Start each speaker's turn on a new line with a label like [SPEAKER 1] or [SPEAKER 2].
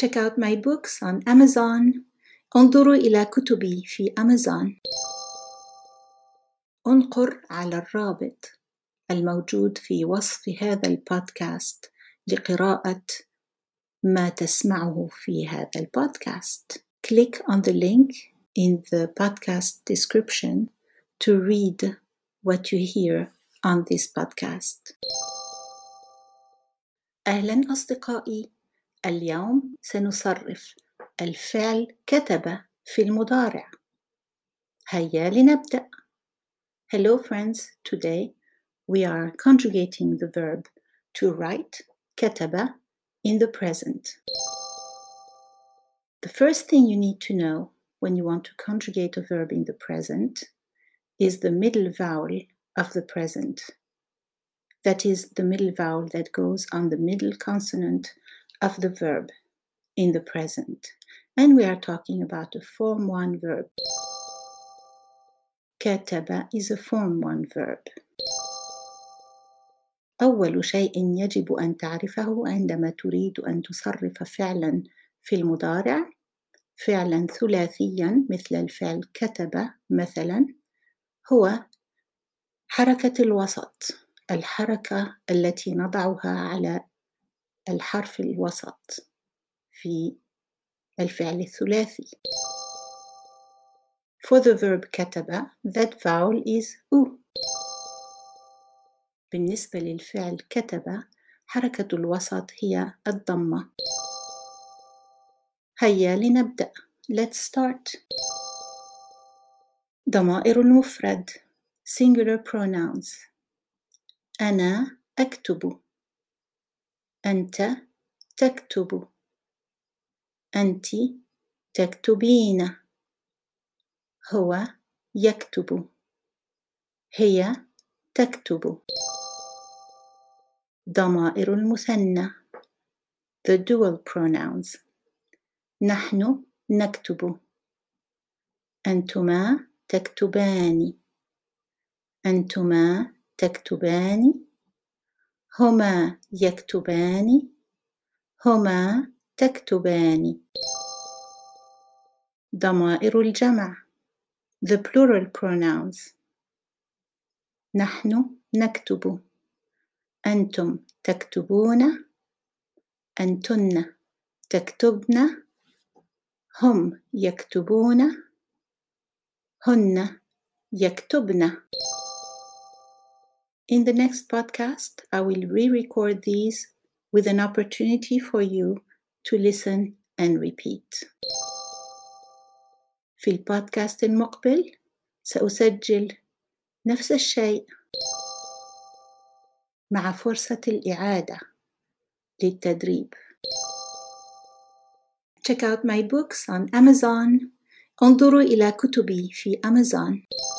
[SPEAKER 1] Check out my books on Amazon. انظروا إلى كتبي في أمازون. انقر على الرابط الموجود في وصف هذا البودكاست لقراءة ما تسمعه في هذا البودكاست. Click on the link in the podcast description to read what you hear on this podcast. أهلا أصدقائي، اليوم سنصرف الفعل كتب في المضارع. هيا لنبدأ. Hello friends, today we are conjugating the verb to write كتب in the present. The first thing you need to know when you want to conjugate a verb in the present is the middle vowel of the present. That is the middle vowel that goes on the middle consonant of the verb in the present. And we are talking about a form 1 verb. كتب is a form 1 verb. أول شيء يجب أن تعرفه عندما تريد أن تصرف فعلا في المضارع، فعلا ثلاثيا مثل الفعل كتب مثلا، هو حركة الوسط، الحركة التي نضعها على الحرف الوسط في الفعل الثلاثي. For the verb كتب, that vowel is U. بالنسبة للفعل كتب، حركة الوسط هي الضمة. هيا لنبدأ. Let's start. ضمائر المفرد singular pronouns. أنا أكتب، أنت تكتب، أنت تكتبين، هو يكتب، هي تكتب. ضمائر المثنى the dual pronouns. نحن نكتب، أنتما تكتبان، أنتما تكتبان، هما يكتبان، هما تكتبان. ضمائر الجمع the plural pronouns. نحن نكتب، أنتم تكتبون، أنتن تكتبن، هم يكتبون، هن يكتبن. In the next podcast, I will re-record these with an opportunity for you to listen and repeat. في البودكاست المقبل سأسجل نفس الشيء مع فرصة الإعادة للتدريب. Check out my books on Amazon. انظروا إلى كتبي في أمازون.